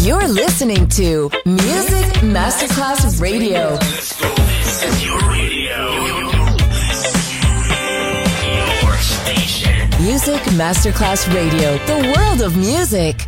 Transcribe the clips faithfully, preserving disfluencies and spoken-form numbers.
You're listening to Music Masterclass Radio. This is your radio. Your station. Music Masterclass Radio. The world of music.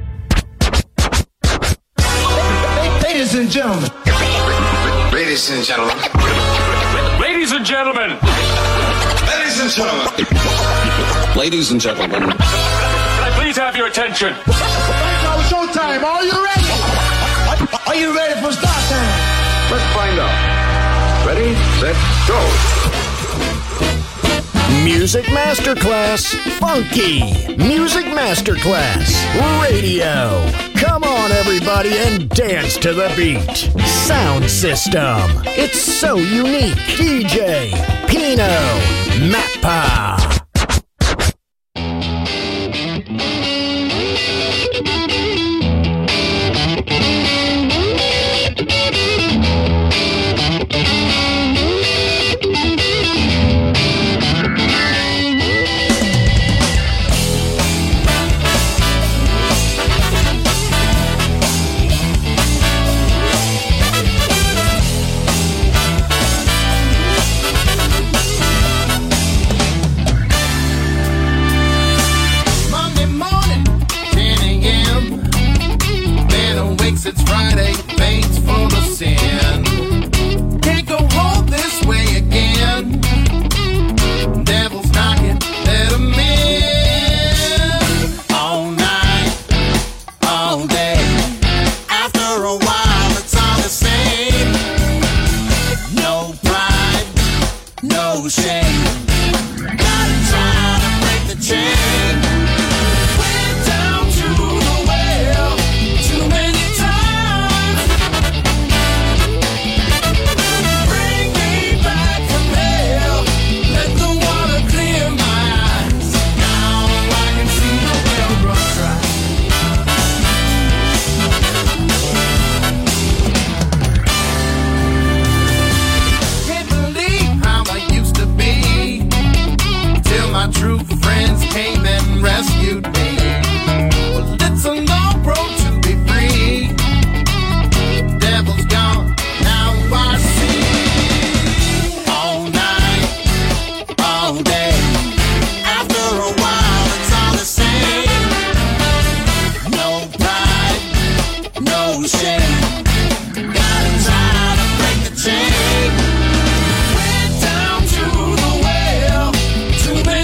Ladies and gentlemen. Ladies and gentlemen. Ladies and gentlemen. Ladies and gentlemen. Ladies and gentlemen. Can I please have your attention? Now showtime. Are you ready? Are you ready for start time? Let's find out. Ready, set, go. Music Masterclass Funky. Music Masterclass Radio. Come on, everybody, and dance to the beat. Sound system. It's so unique. D J Pino Mappa. It's Friday, thanks for the sin. Can't go home this way again. Devil's knocking, let him in. All night, all day. After a while, it's all the same. No pride, no shame. Gotta try to break the chain. Went down to the well, too many. True friends came and rescued me. Well, it's a long road to be free. Devil's gone, now I see. All night, all day. After a while, it's all the same. No pride, no shame. Gotta try to break the chain. Went down to the well, too many.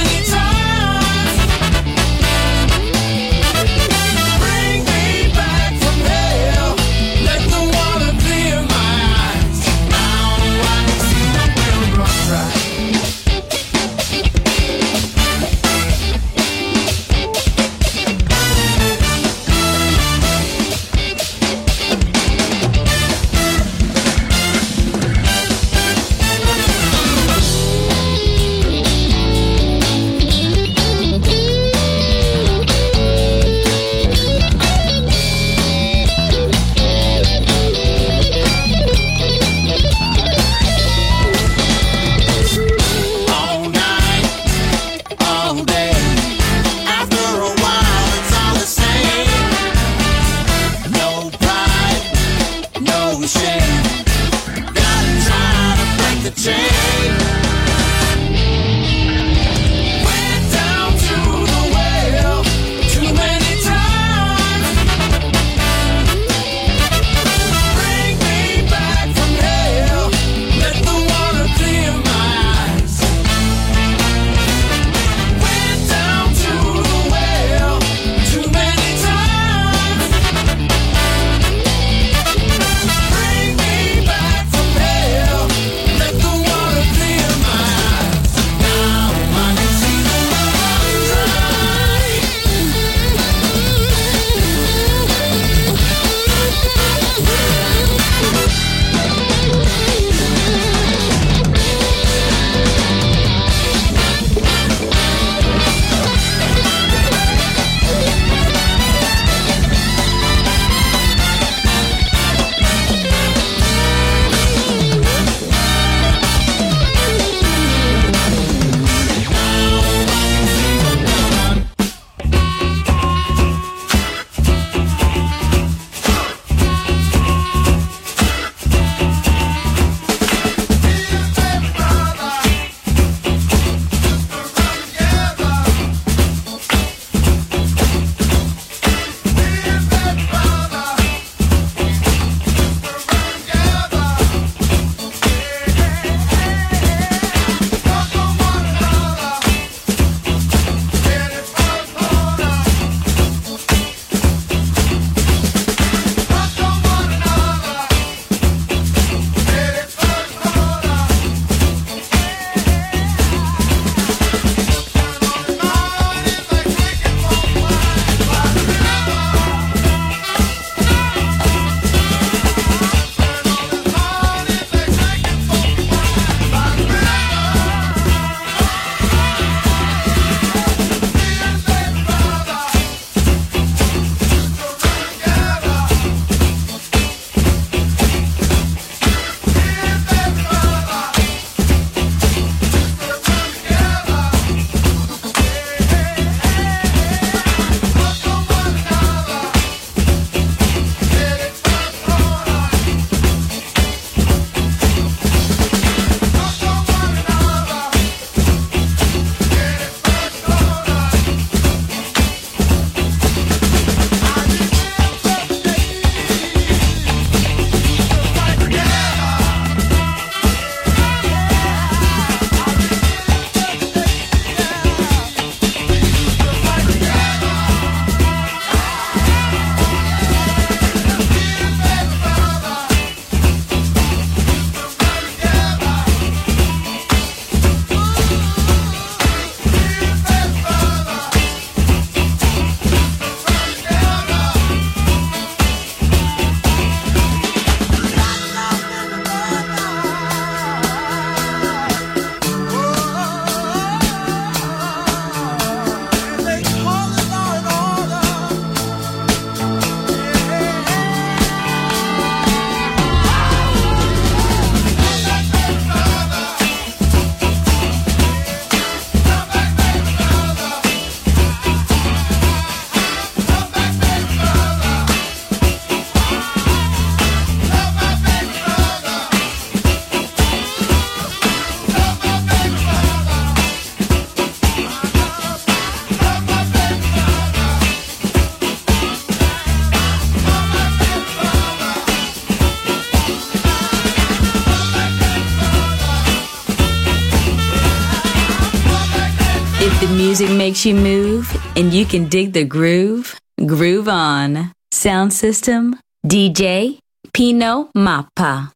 Music makes you move, and you can dig the groove. Groove on. Sound system, D J Pino Mappa.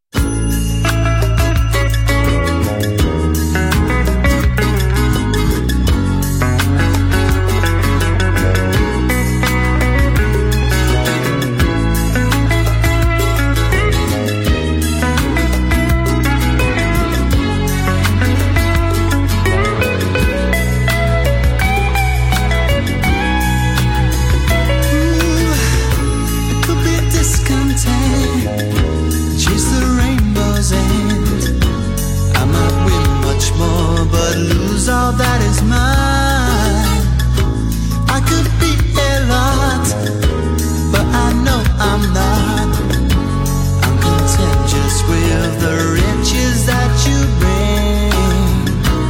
All that is mine. I could be a lot, but I know I'm not. I'm content just with the riches that you bring.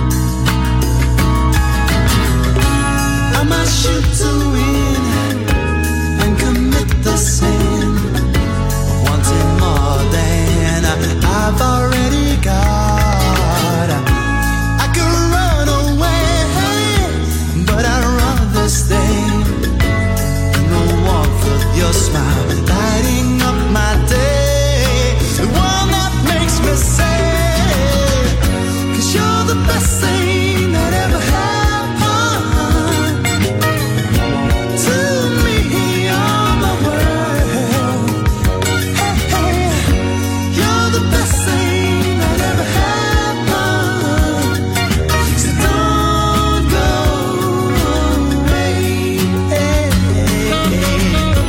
I might shoot to win and commit the sin of wanting more than I've already got. Your smile lighting up my day, the one that makes me say, 'cause you're the best thing that ever happened to me on the world. Hey, hey, you're the best thing that ever happened, so don't go away. Hey, hey, hey.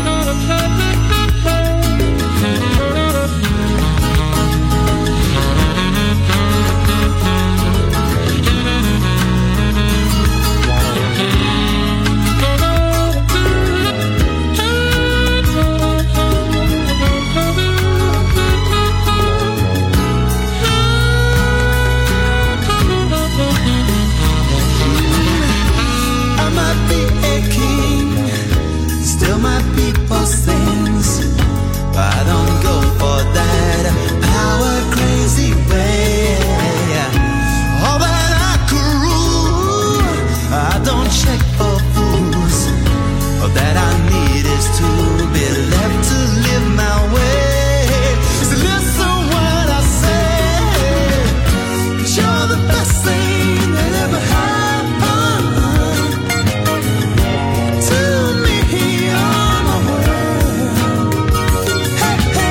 Things, but I don't go for that power crazy way. All that I could rule, I don't check for fools. All that I need is to be left to live my way. So listen what I say, 'cause you're the best thing that ever happened to me on the world. Hey, hey.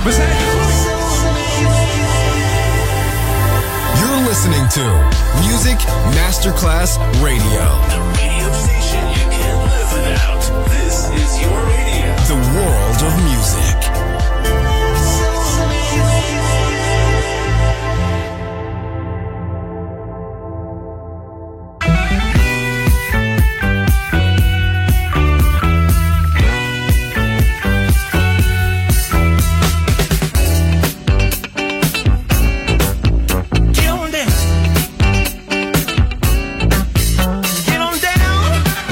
You're listening to Music Masterclass Radio. The radio station you can't live without. This is your radio. The world of music. Get on down.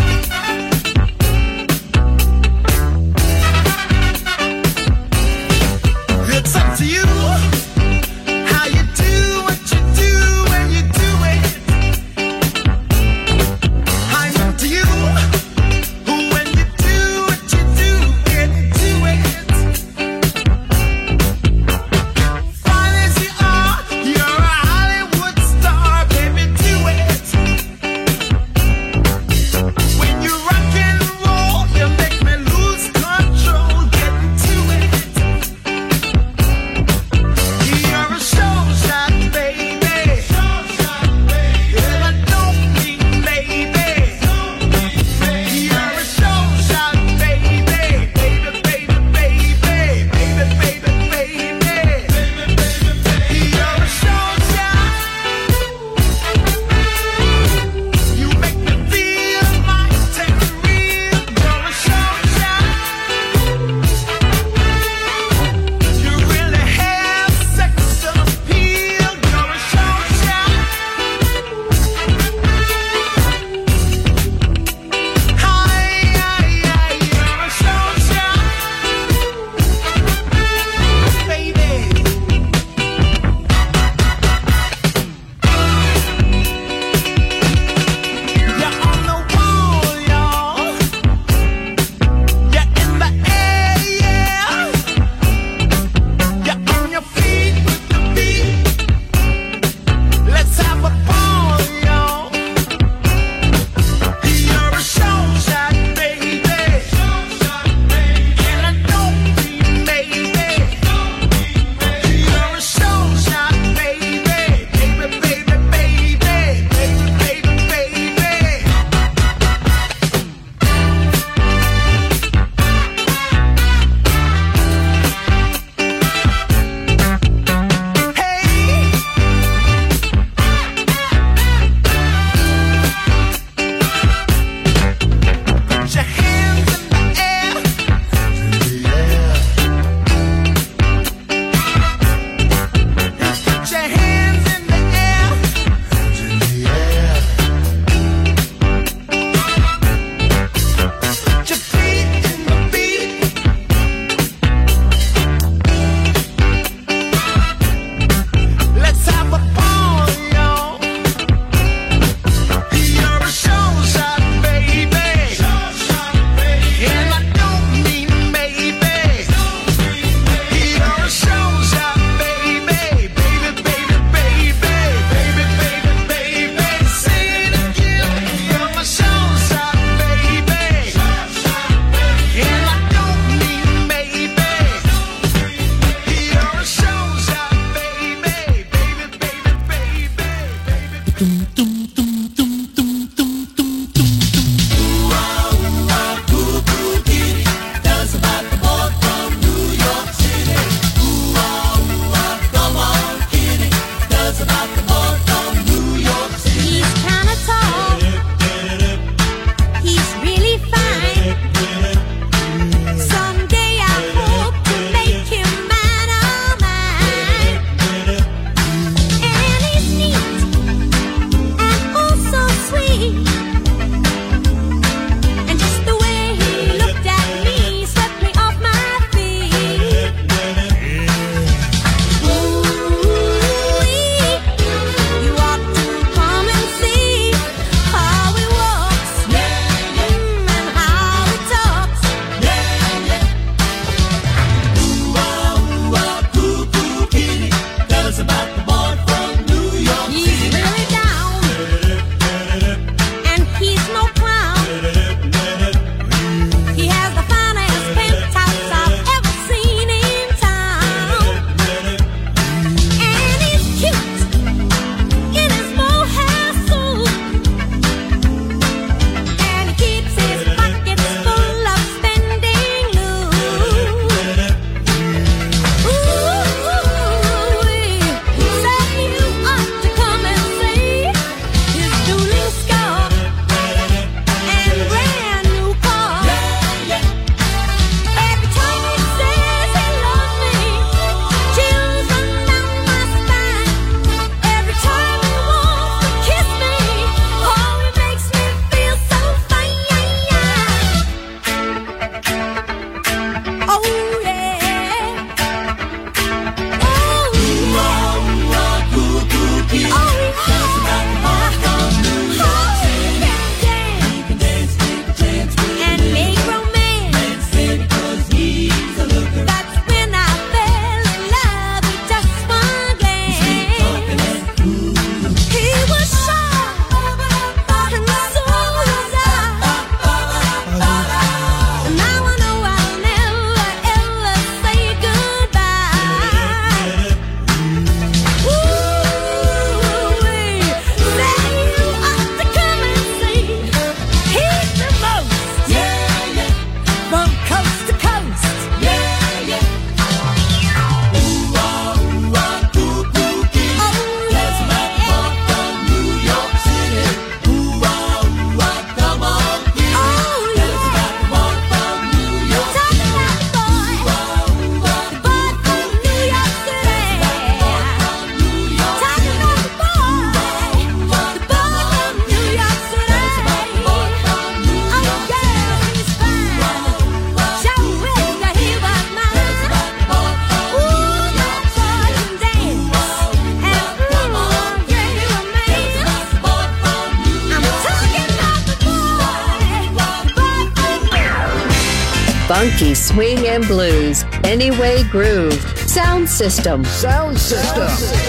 Funky swing and blues. Anyway Groove. Sound System. Sound System.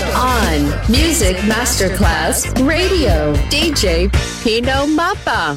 On Music Masterclass Radio. D J Pino Mappa.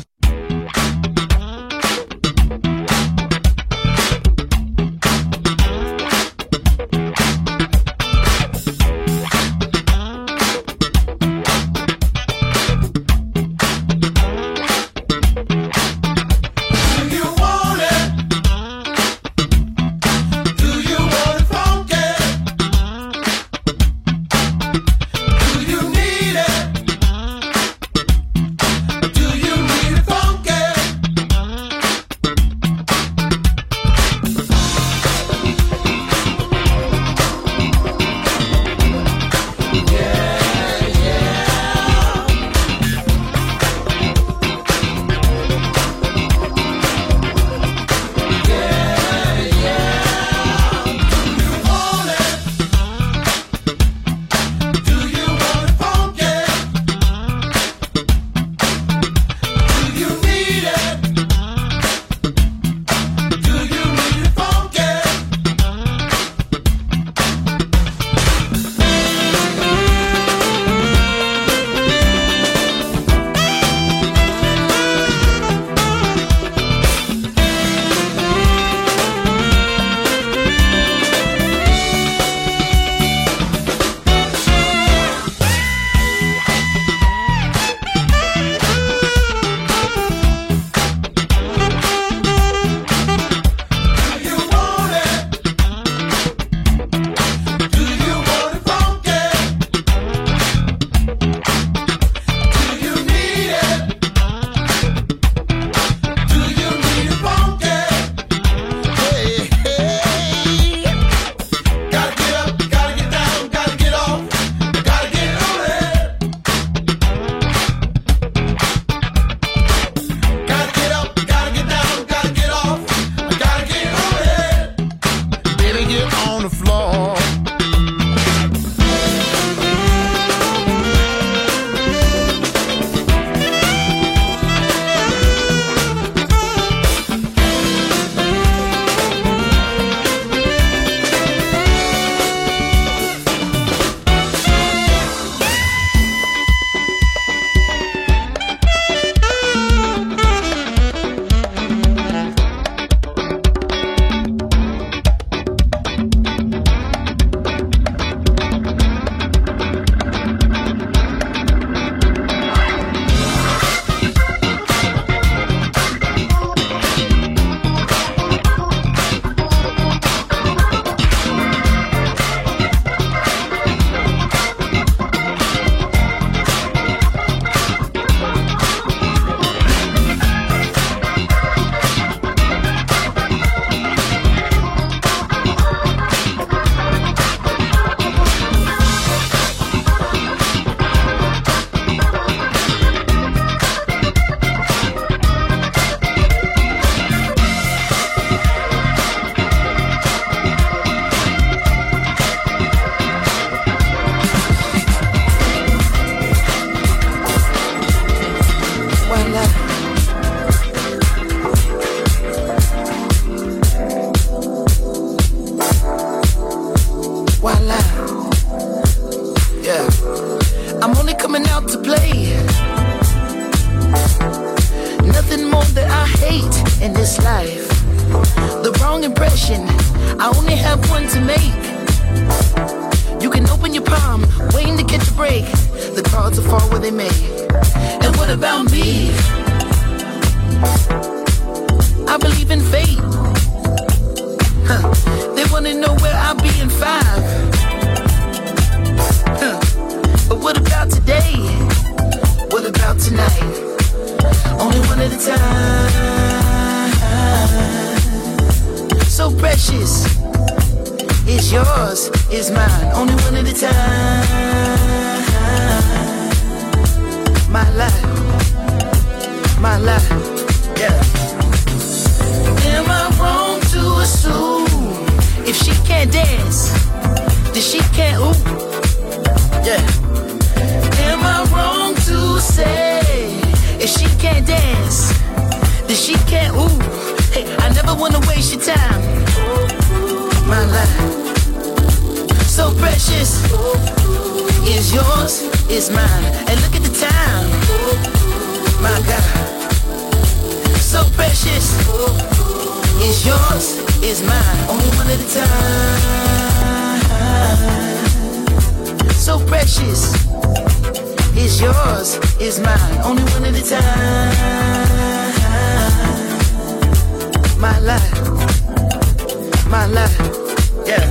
If she can't dance, then she can't ooh. Hey, I never wanna waste your time. My life, so precious, is yours, is mine. And look at the time, my God, so precious, is yours, is mine. Only one at a time. So precious, is yours, is mine. Only one at a time. My life, my life, yeah.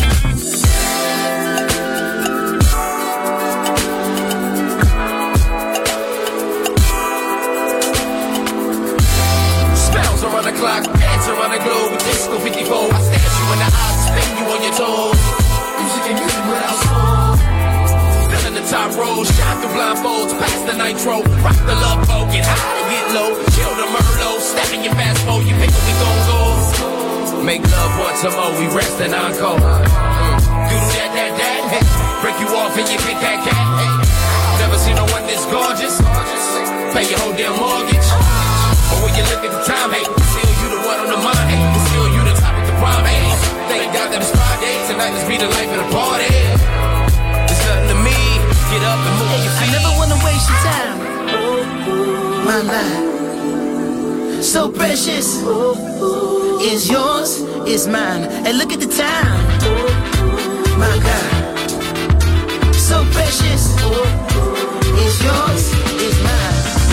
Spells around the clock, dance around the globe. Disco fifty-four, I stare you in the eyes, spin you on your toes. Music and music without soul. Still in the top row, shine through blindfolds, pass the nitro, rock the love boat, get high and get low, chill the Merlot, step in your fast mode, you pick up, we gon' go. Make love once more, we rest and encore. Mm. Do that, that, that, hey. Break you off and you pick that cat. Hey. Never seen no one this gorgeous. Pay your whole damn mortgage. But when you look at the time, hey, still you the one on the mind, hey. Still you the topic of prime, hey. Thank God that it's Friday, tonight let's be the life of the party. It's nothing to me, get up and move your feet. I never wanna waste your time. My life, so precious, is yours, is mine. And look at the time, my God, so precious, is yours, is mine.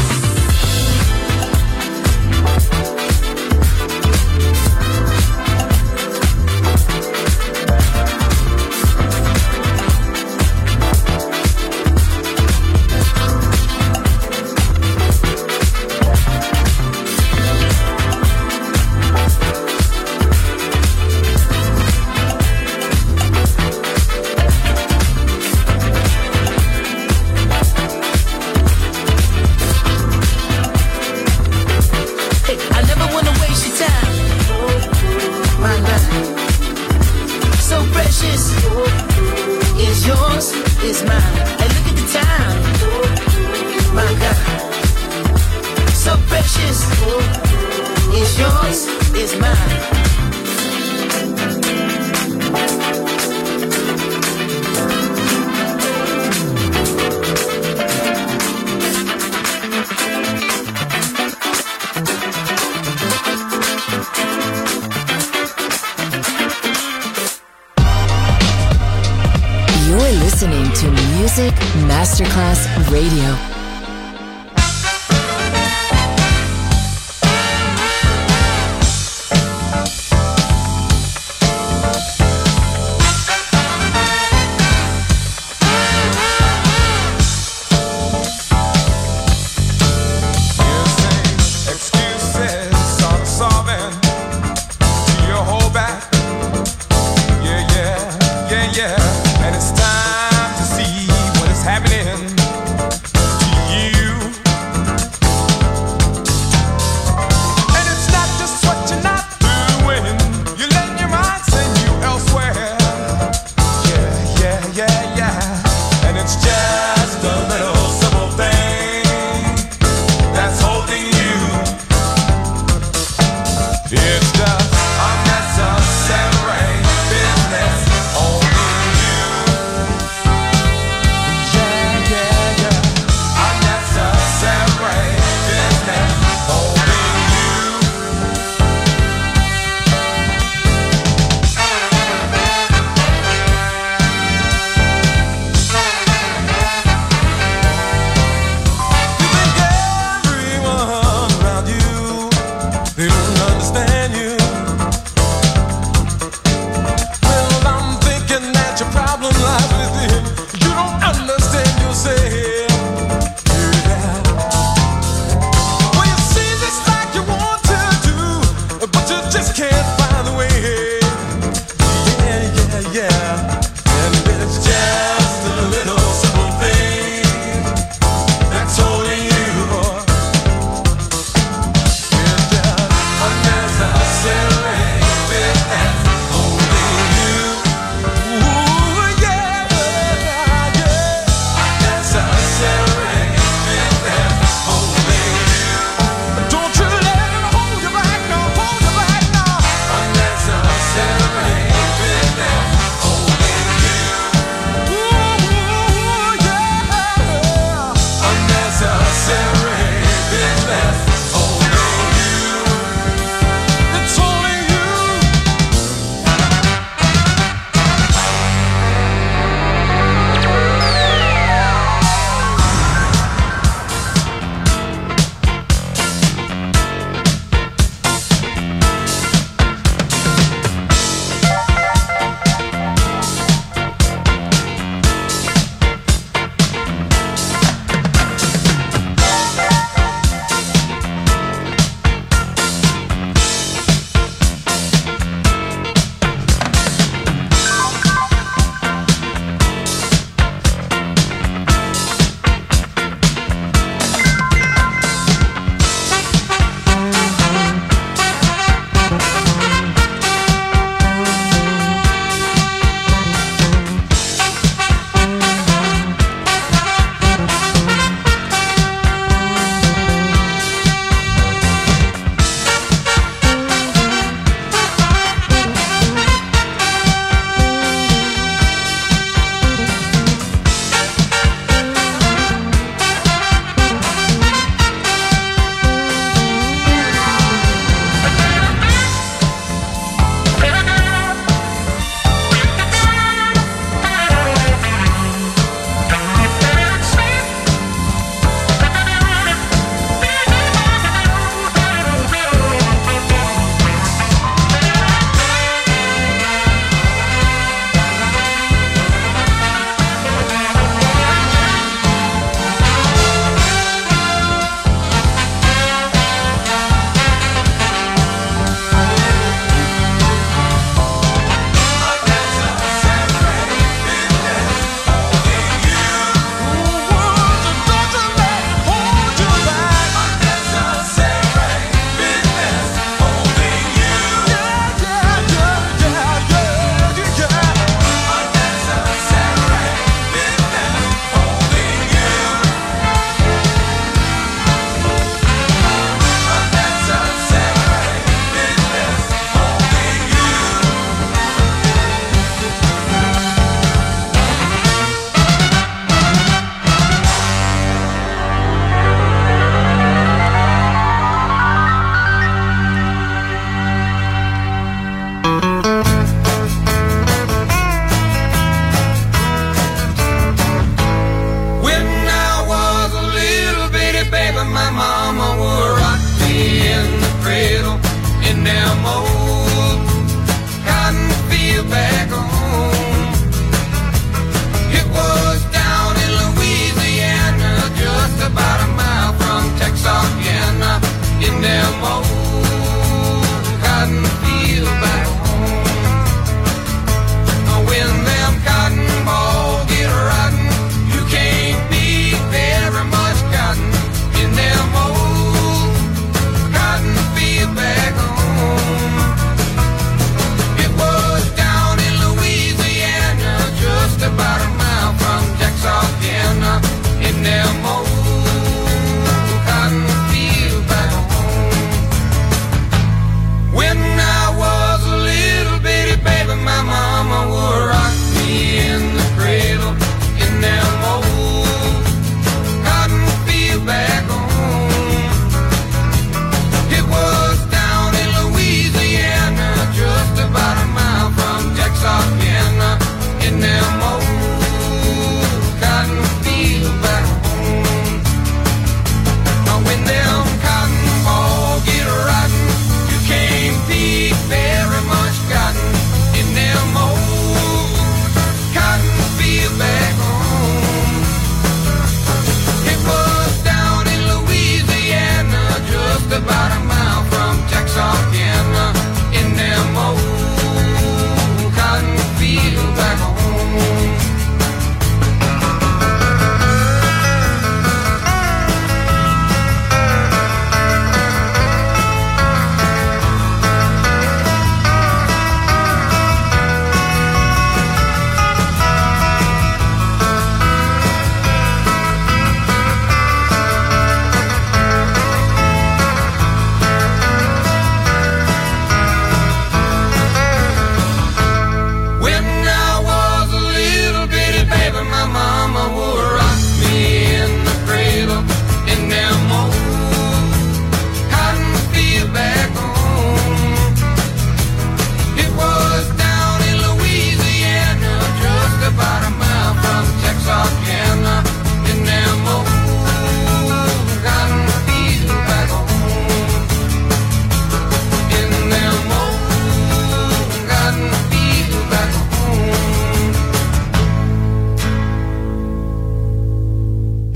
Is yours, is mine. And look at the time, my God, so precious. Is yours, is mine. Listening to Music Masterclass Radio.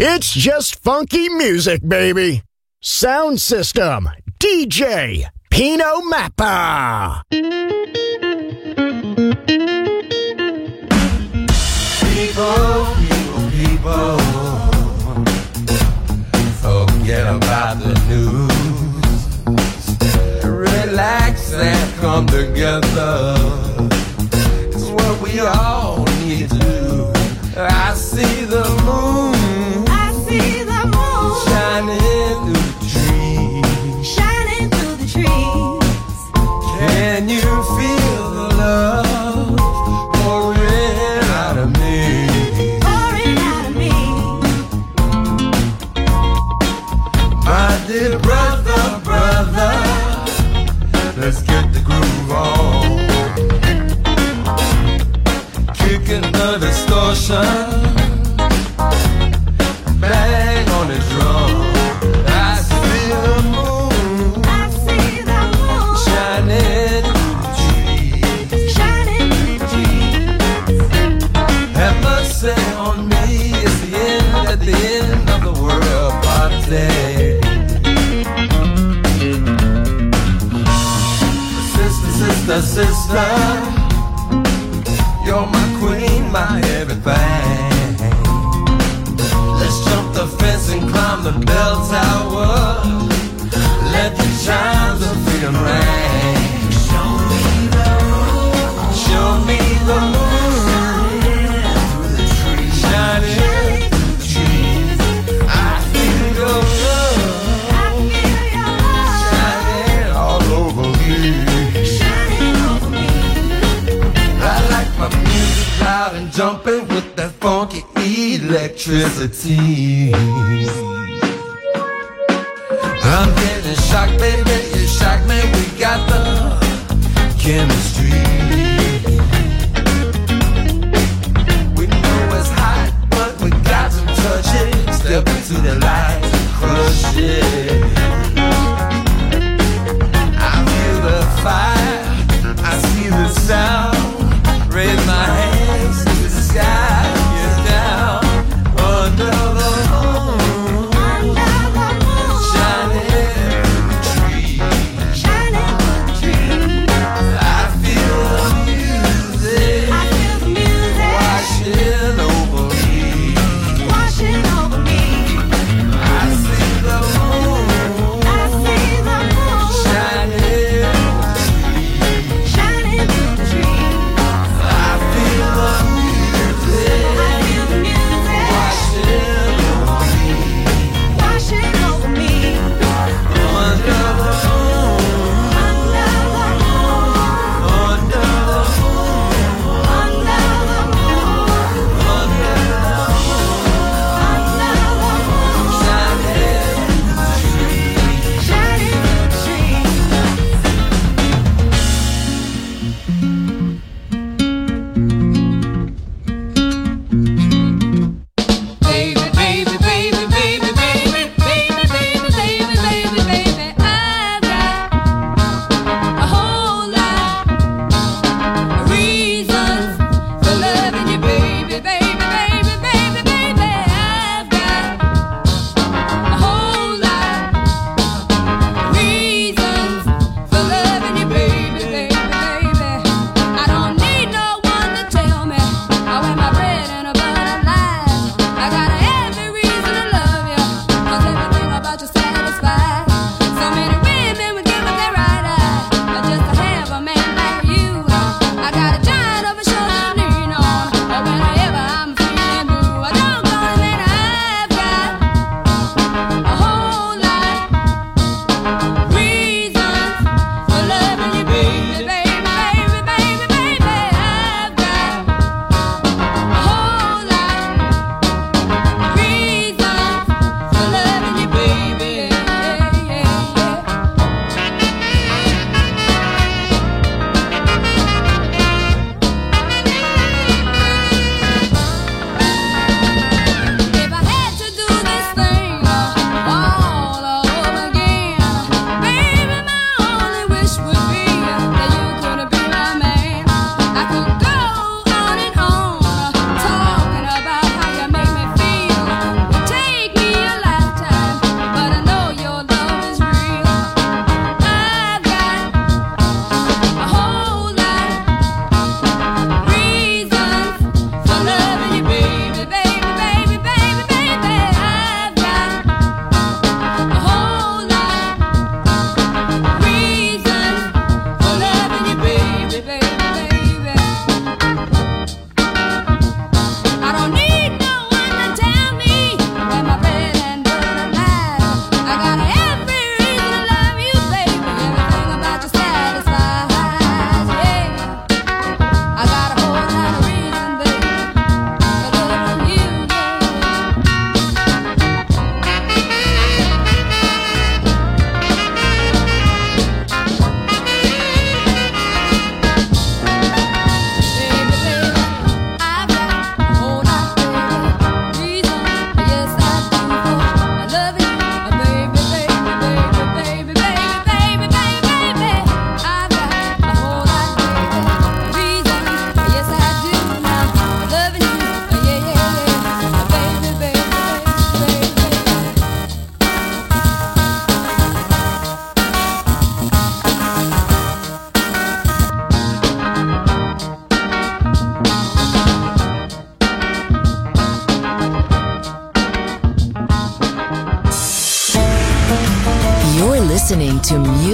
It's just funky music, baby. Sound system, D J Pino Mappa. People, people, people, forget about the news. Relax and come together. It's what we all need to do. I see the moon. I see the moon shining through the trees. Shining through the trees. Can you feel the love pouring out of me? Pouring out of me. My dear brother, brother, let's get the groove on. Kicking the distortion, bang on the drum. I see the moon, I see the moon shining through the trees. Shining through the trees. Have mercy on me, it's the end at the end of the world party. Sister, sister, sister, you're my queen, my everything. Let's jump the fence and climb the bell tower. Let the chimes of freedom ring. Show me the moon. Show me the moon. Shining through the trees. I feel your love. I feel your love shining all over me. shining over me. I like my music loud and jumping with that funky electricity. I'm getting shocked, baby, you shock me. We got the chemistry. We know it's hot, but we got to touch it. Step into the light and crush it. I feel the fire, I see the sound. Raise my hands to the sky, get down under the moon.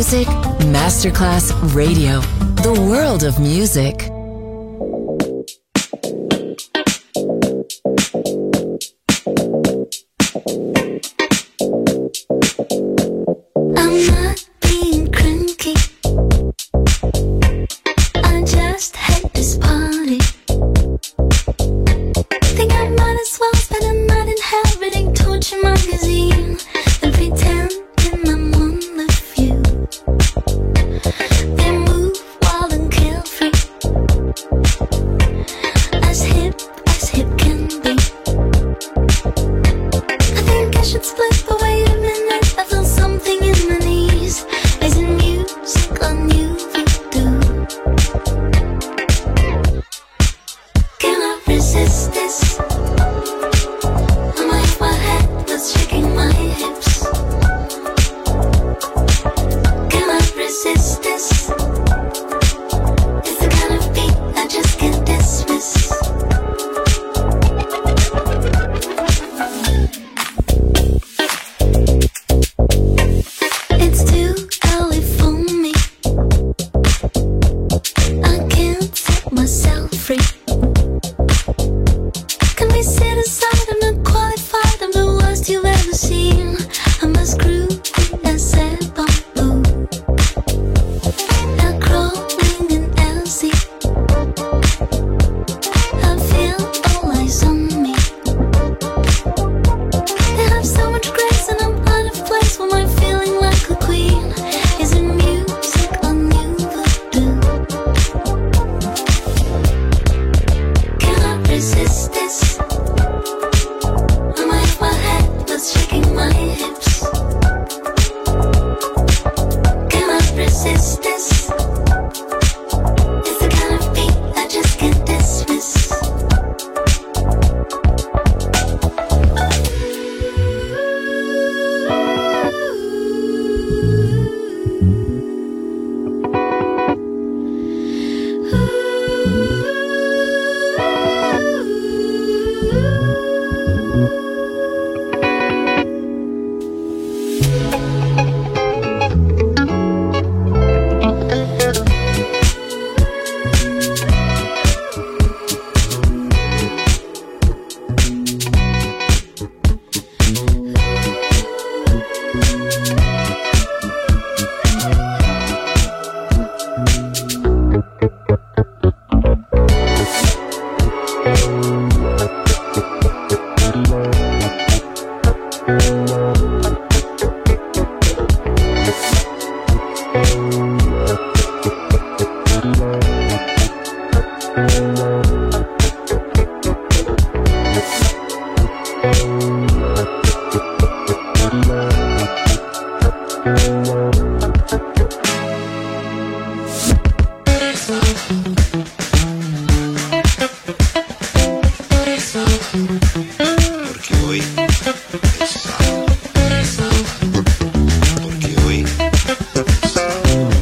Music Masterclass Radio. The world of music. I'm not being cranky. I just had this party. Think I might as well spend a night in hell reading Torture magazine and pretending I'm one of you. They move wild and carefree, as hip as hip can be. I think I should split, but wait a minute, I feel something in my knees. Is it music on you do? Can I resist this? I might my head was shaking my hips. Can I resist this? It's the kind of beat I just can't dismiss. It's too early for me. I can't set myself free. Can we sit aside? I'm not qualified. I'm the worst you've ever seen. I'm as crude as a bamboo. Now crawling in Elsie. I feel all eyes on me. They have so much grace and I'm out of place. When I'm feeling like a queen. Is it music on you do? Can I resist this? I might my head was shaking my hips. Can I resist this? It's the kind of beat I just can't dismiss. Porque hoy es sábado. Porque hoy es sábado.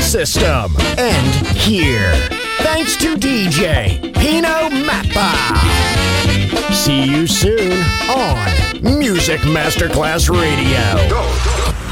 System end here. Thanks to D J Pino Mappa. See you soon on Music Masterclass Radio. Go, go.